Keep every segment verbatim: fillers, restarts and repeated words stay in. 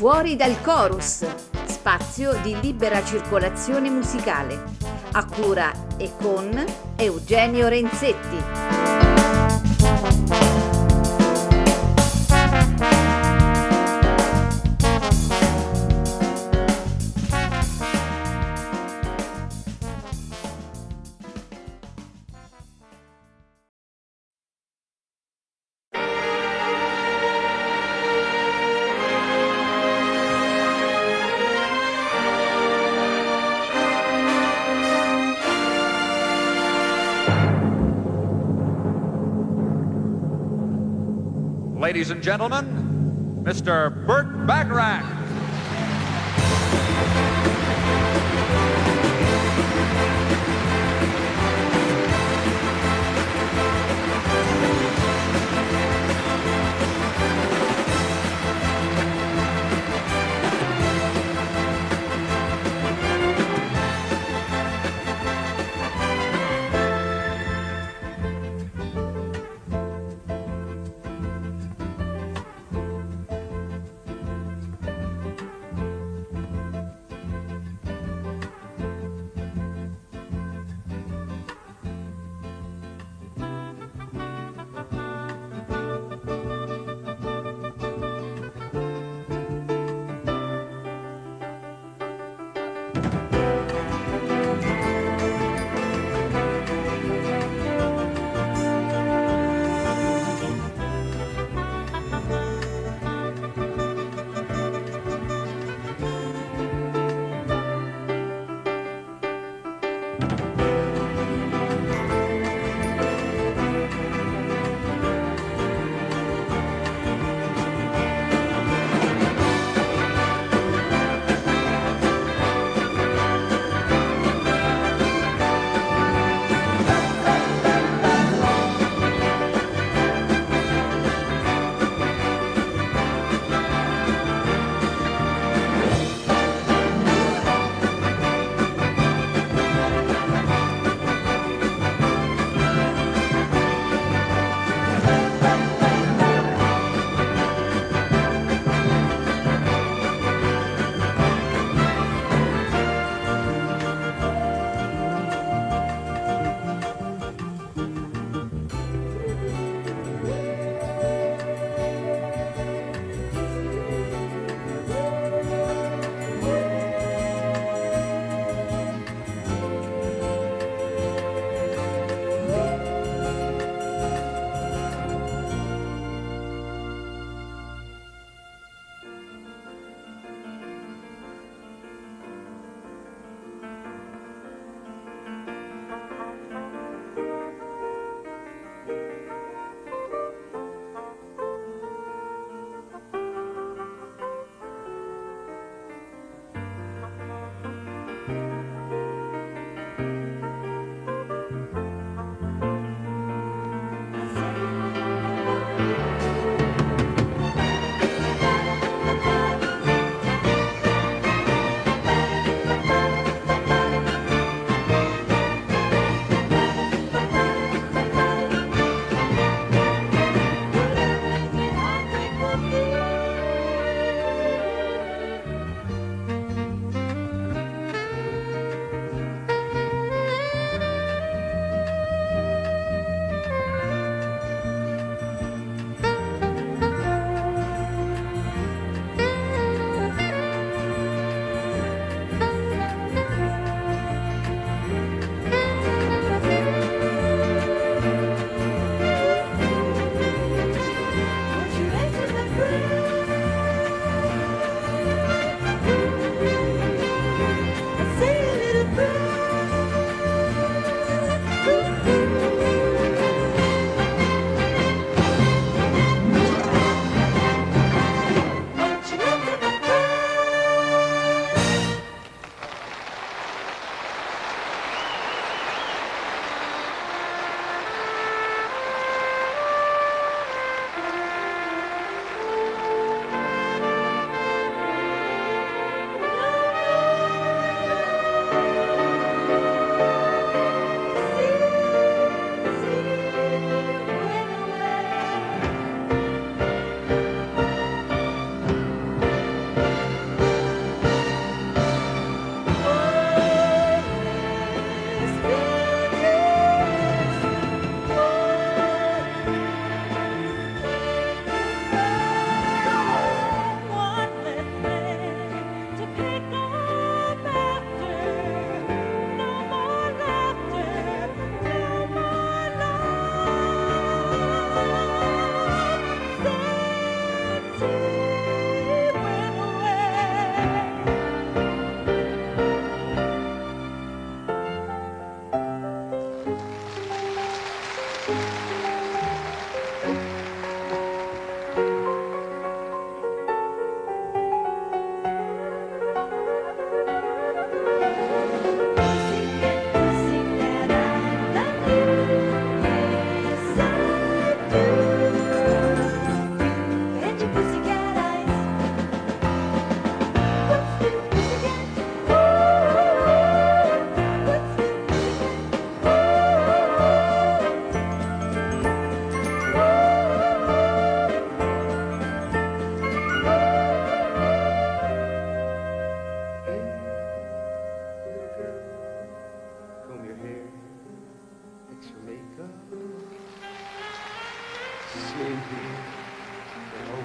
Fuori dal chorus, spazio di libera circolazione musicale, a cura e con Eugenio Renzetti. Ladies and gentlemen, Mister Burt Bacharach.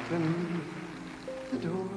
open the door.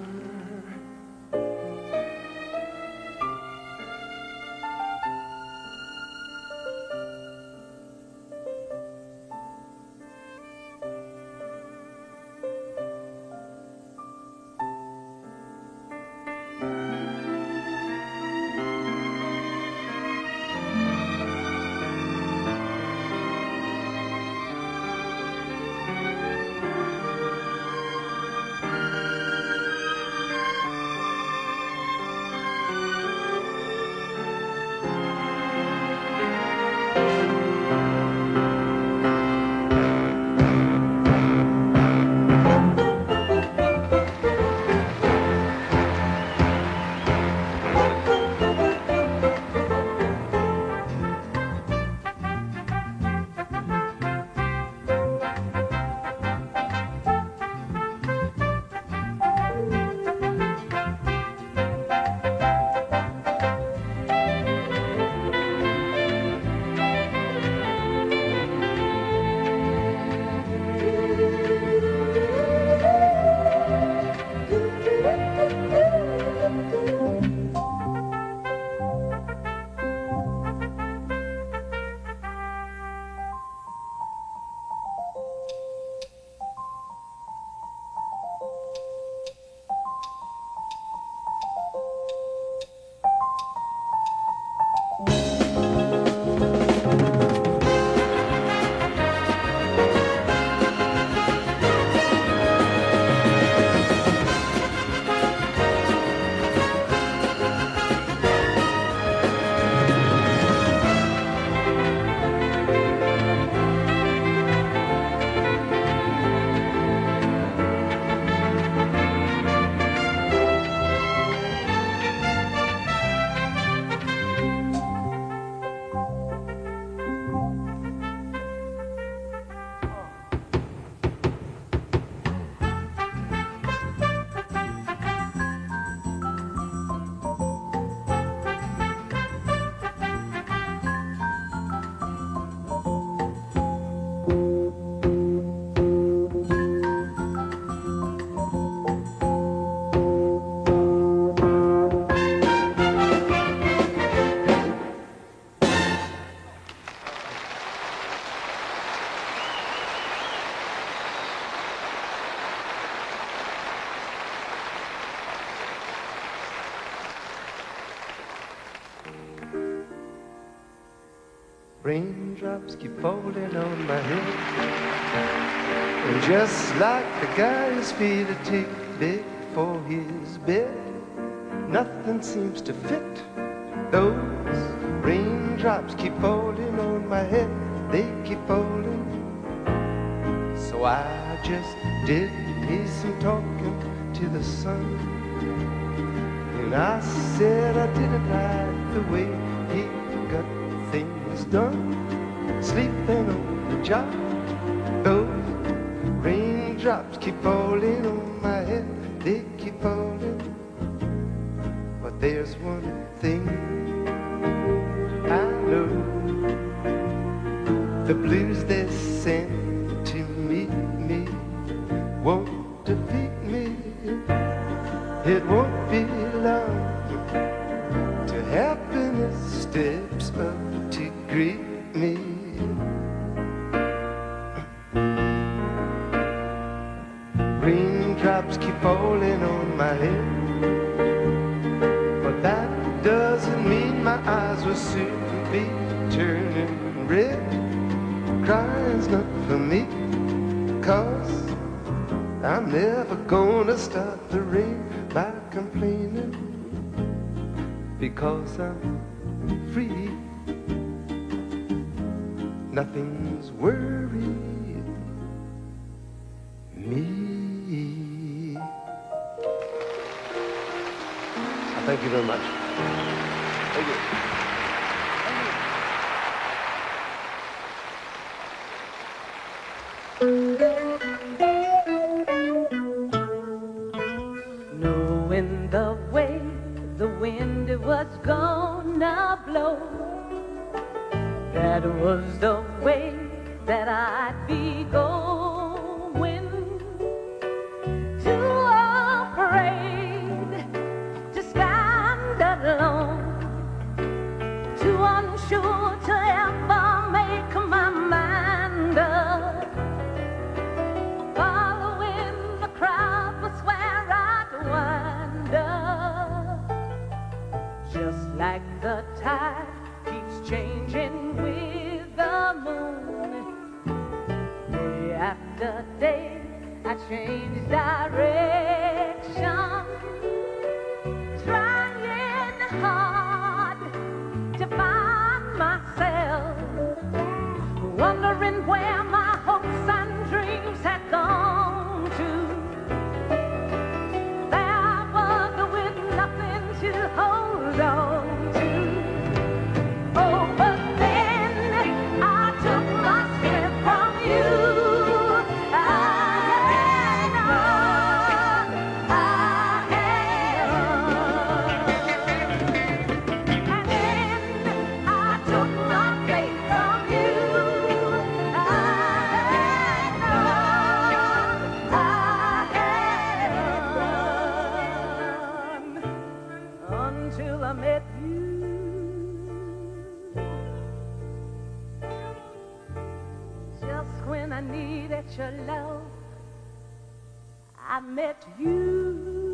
Raindrops keep falling on my head, and just like the guy whose feet are too big for his bed, nothing seems to fit. Those raindrops keep falling on my head, they keep falling. So I just did me some talking to the sun, and I said I didn't like the way he got things done, sleeping on the job. Those raindrops keep falling on my head, they keep falling. But there's one thing I know, the blues they send to meet me won't defeat me. It won't be long till happiness steps up to greet me. Raindrops keep falling on my head, but that doesn't mean my eyes will soon be turning red. Crying's not for me, 'cause I'm never gonna stop the rain by complaining, because I'm free. Nothing's worried me. Thank you very much. Thank you. Knowing the way the wind was gonna blow, that was the way that I'd be going. sure to ever make my mind up. Following the crowd was where I'd wind up. Just like the tide keeps changing with the moon. Day after day I change direction, trying hard to find myself, wondering where my hopes and dreams had gone to. There was with nothing to hold on to. Oh, but then I took my strength from you. I am, I am. And then I took my faith from you. I am, I am. Until I met you. Just when I needed your love, I met you.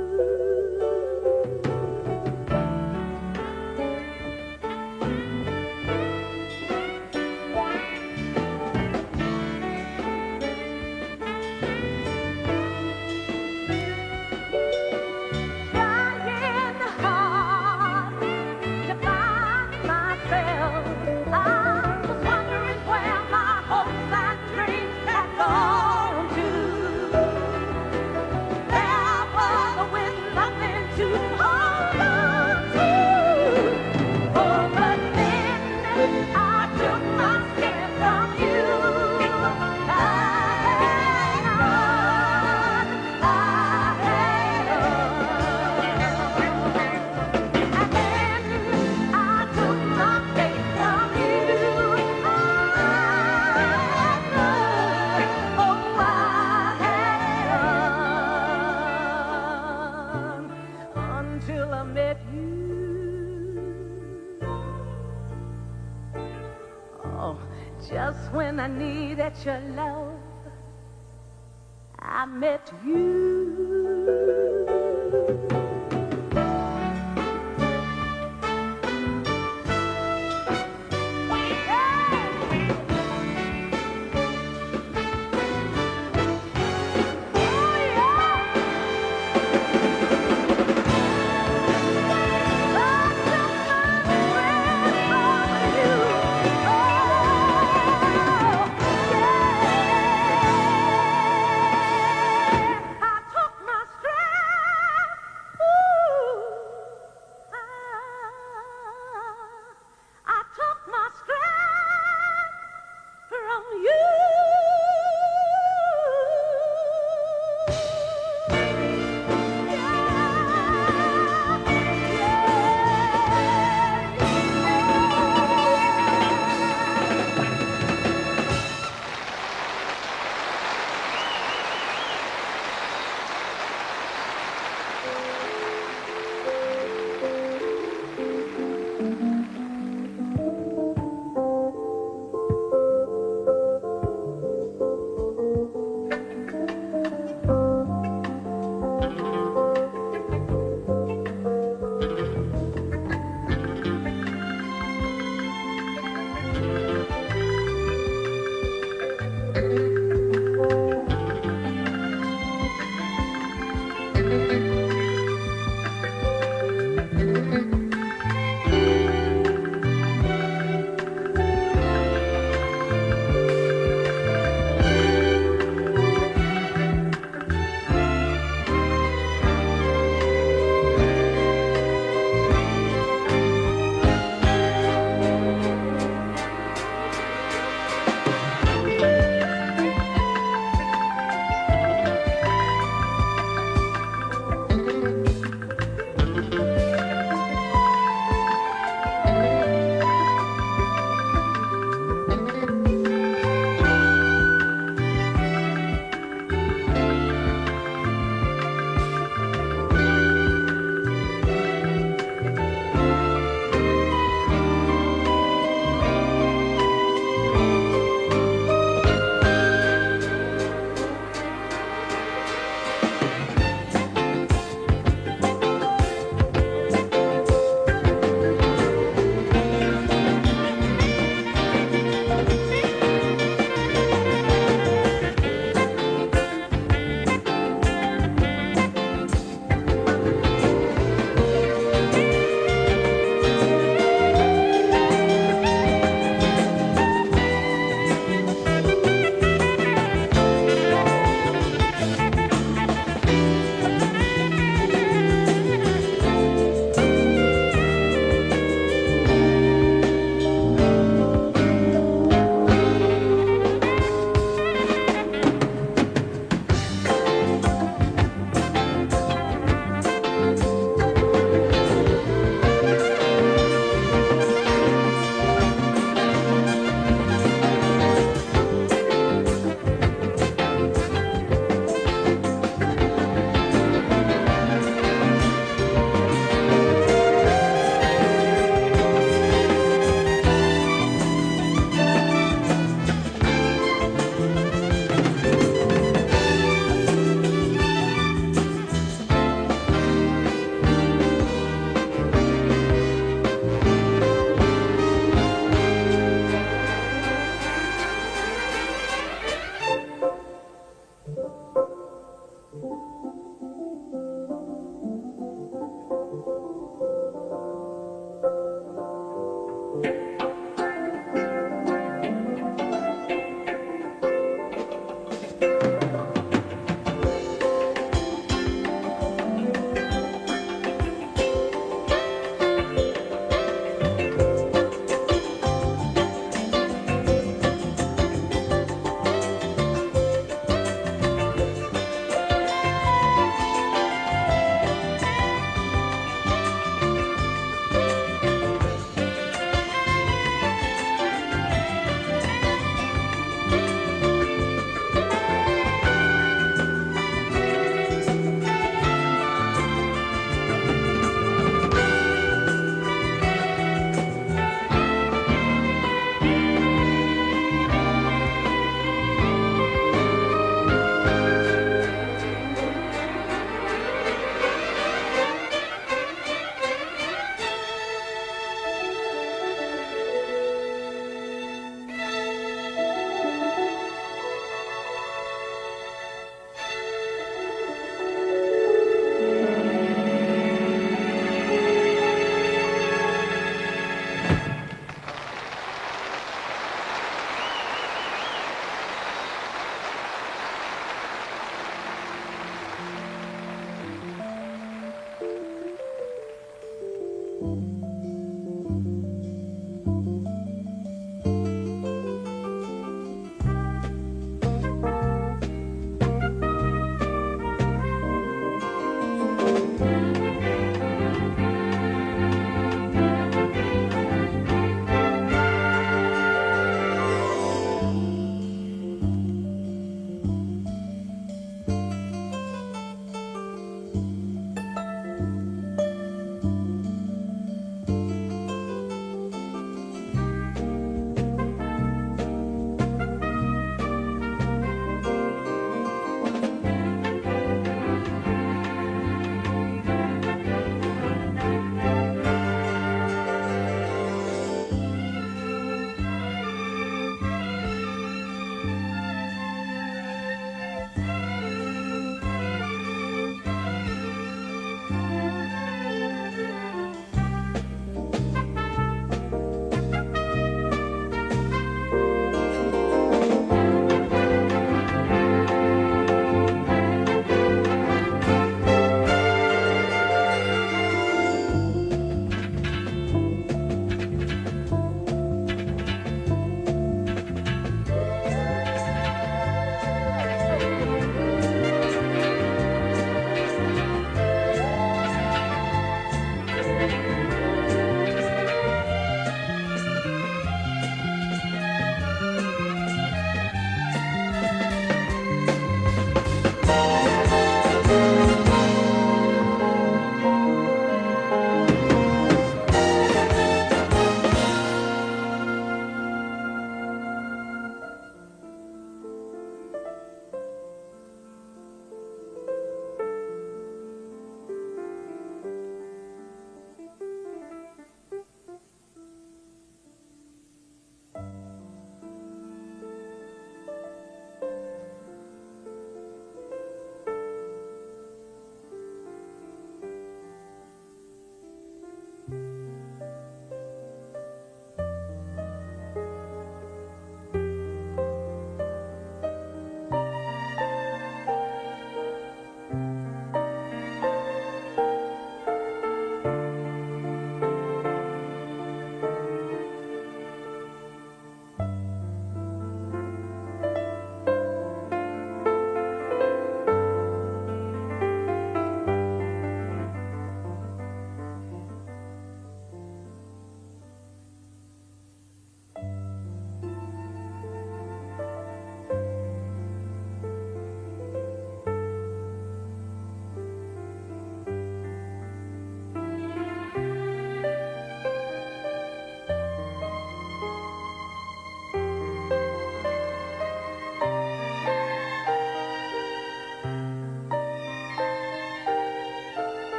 Trying hard to find myself, I was wondering where my hopes and dreams had gone to. There was with nothing to hold on to. Oh, but then I took my strength from you. I am, I am. And then I took my faith from you. I am, oh, I am. Until I met you. Oh, just when I needed your love, I met you. I took my strength.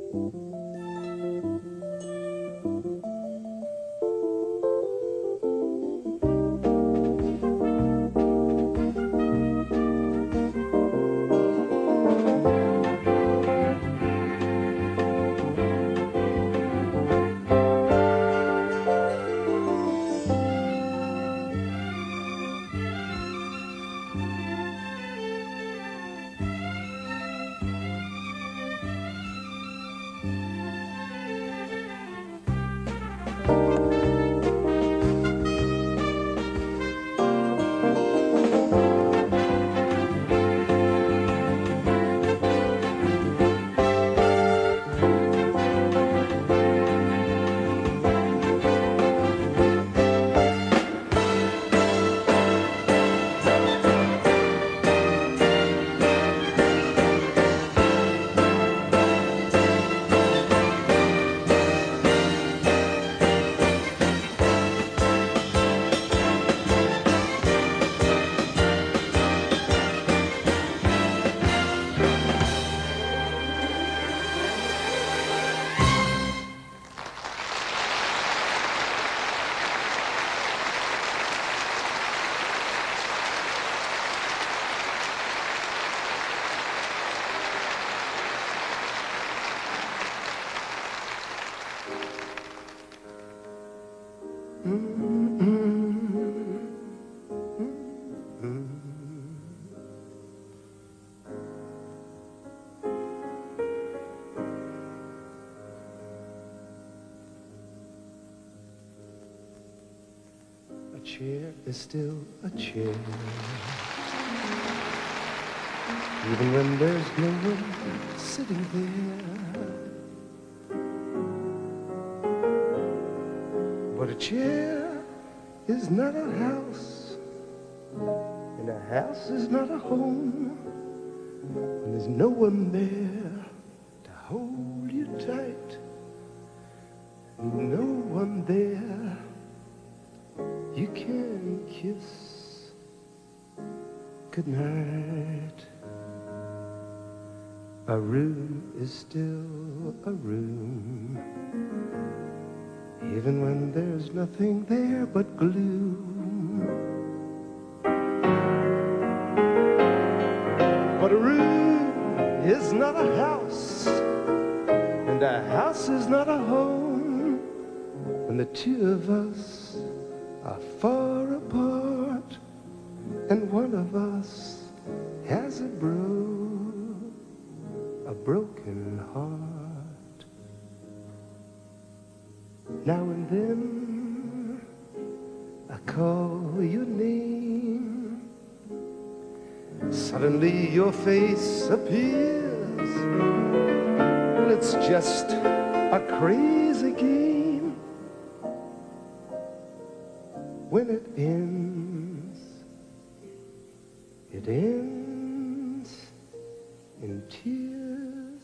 A chair is still a chair, even when there's no one sitting there. But a chair is not a house, and a house is not a home when there's no one there to hold you tight, no one there you can kiss goodnight. A room is still a room, even when there's nothing there but gloom. But a room is not a house, and a house is not a home when the two of us are far apart, and one of us has a bro, a broken heart. Now and then I call your name, suddenly your face appears. Well, it's just a crazy game. When it ends, it ends in tears.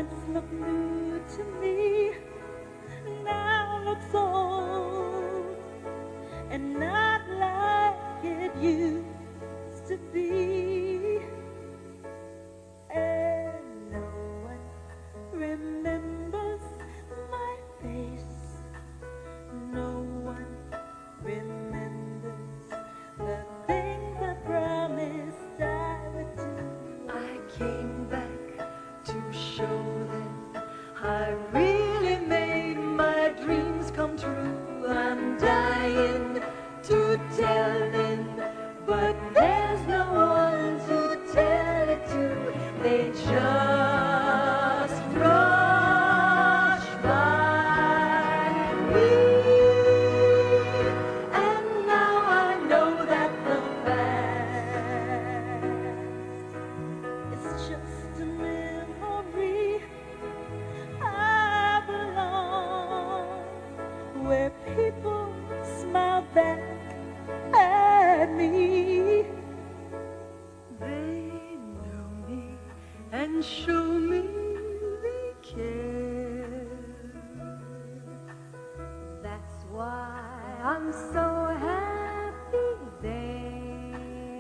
once looked new to me now looks old and not like it used to be. And no one remembers my face. No one remembers the things I promised I would do. I came back to show them I really made my dreams come true. I'm dying to tell them, but there's no one to tell it to. They just rush by me. And now I know that the past is just a memory. I belong where people smile back at me. They know me and show me they care. That's why I'm so happy there.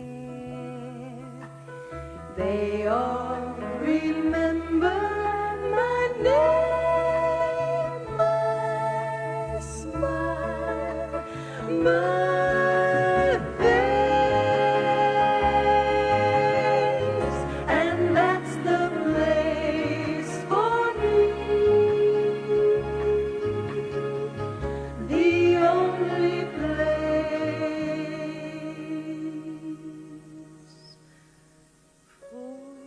They all remember my name, my smile, my face, and that's the place for me, the only place for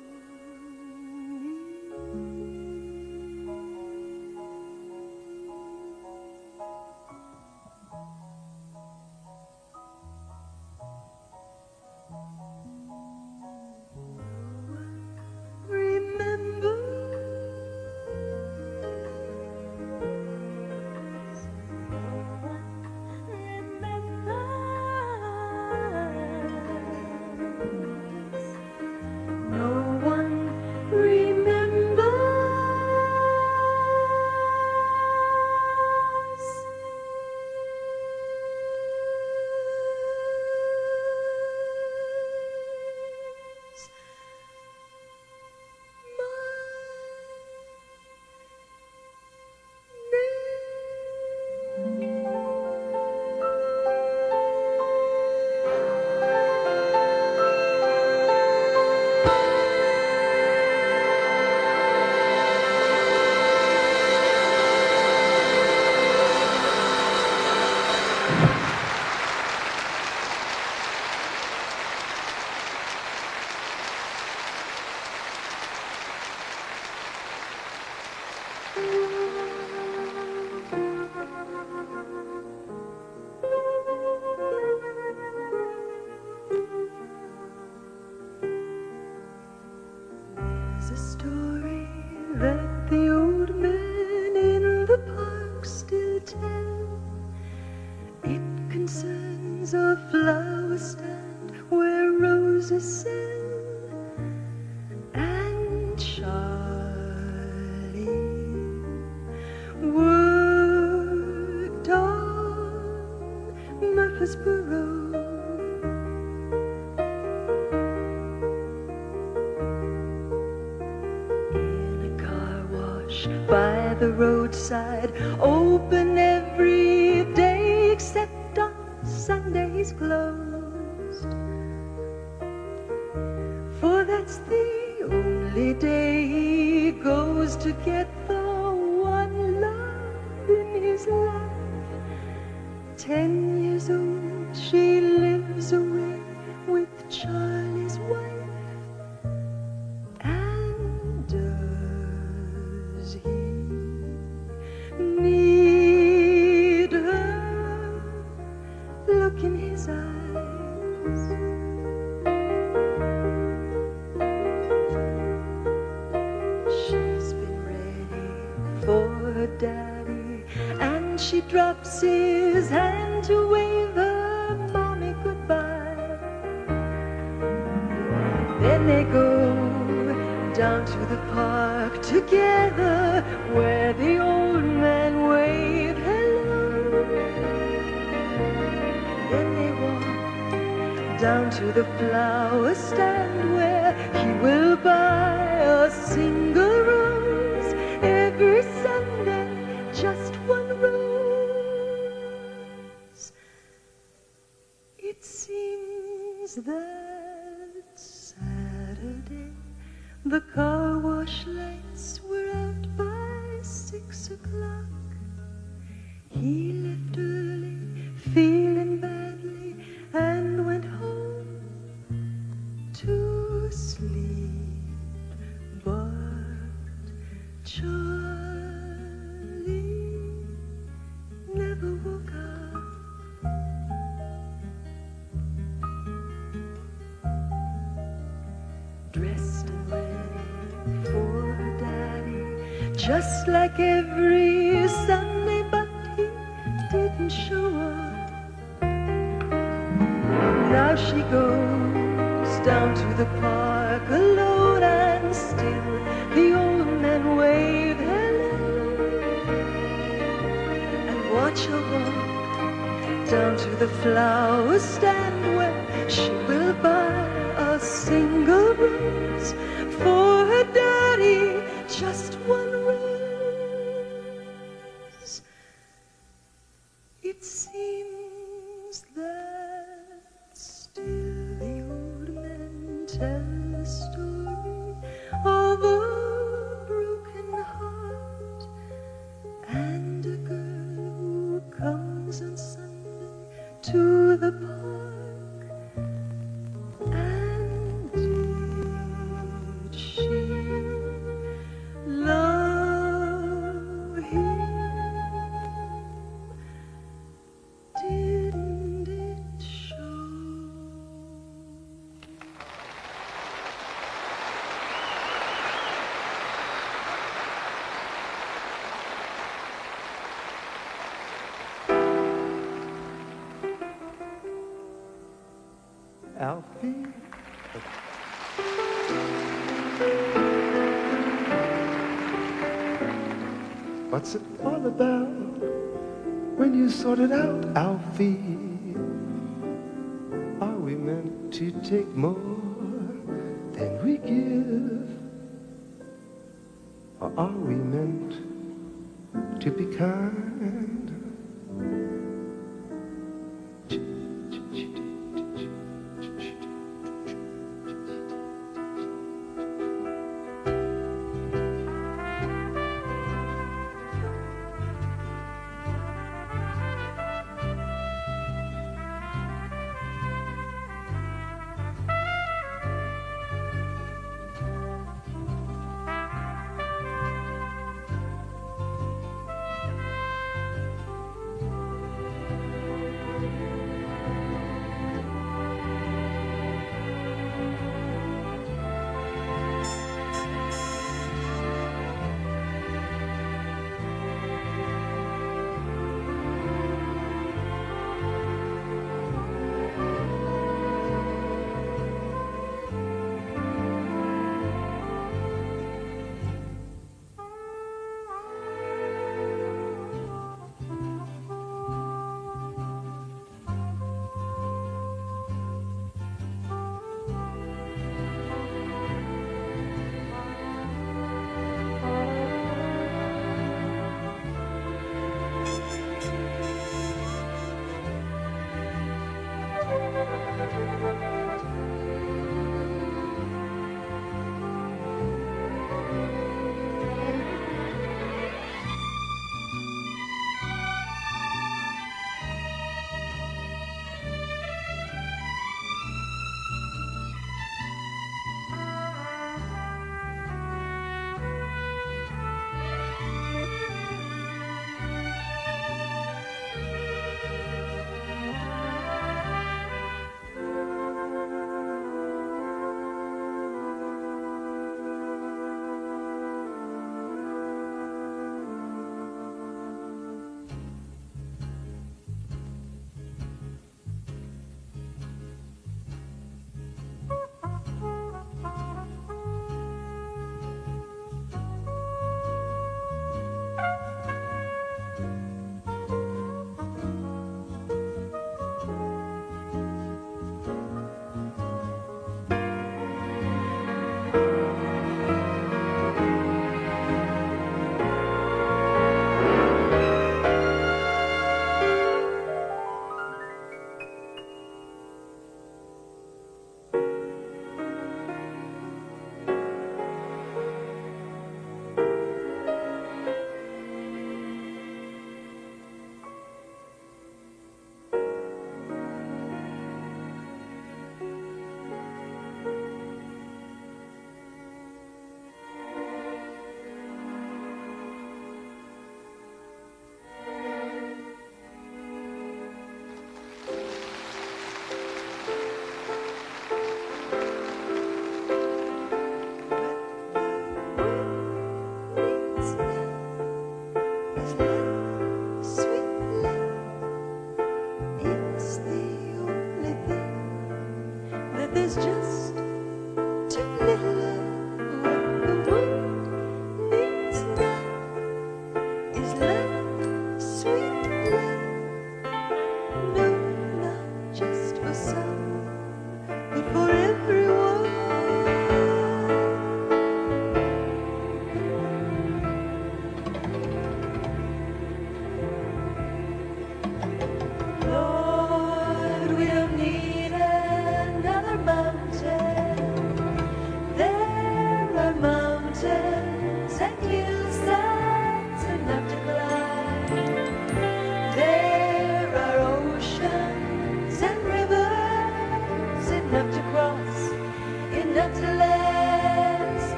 There's a story that the old men in the park still tell. It concerns a flower stand where roses sell, and Charlie worked on Murfreesboro. By the roadside, open every day except on Sundays closed. For that's the only day he goes to get the one love in his life. Ten years old, she lives away with Charlie's wife. Need her look in his eyes. She's been ready for her daddy, and she drops his hand to wave her mommy goodbye. Then they go down to the park together where the old man waved hello. Then they walk down to the flower stand where he will buy a single rose every Sunday, just one rose. It seems that Saturday the car wash lights were out by six o'clock. He left early, feeling badly, and went home to sleep. But Charlie never woke up. Dressed and ready for Daddy, just like every Sunday, but he didn't show up. Now she goes down to the park alone, and still the old man wave hello. And watch her walk down to the flower stand where she will buy a single rose for her daddy, just one rose. It seems that still the old man tells the story of a broken heart and a girl who comes on Sunday to the park. And did she love him? Didn't it show? Alfie? What's it all about when you sort it out, Alfie? Are we meant to take more than we give? Or are we meant to be kind?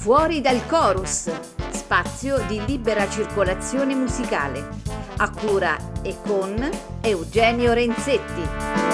Fuori dal chorus, spazio di libera circolazione musicale, a cura e con Eugenio Renzetti.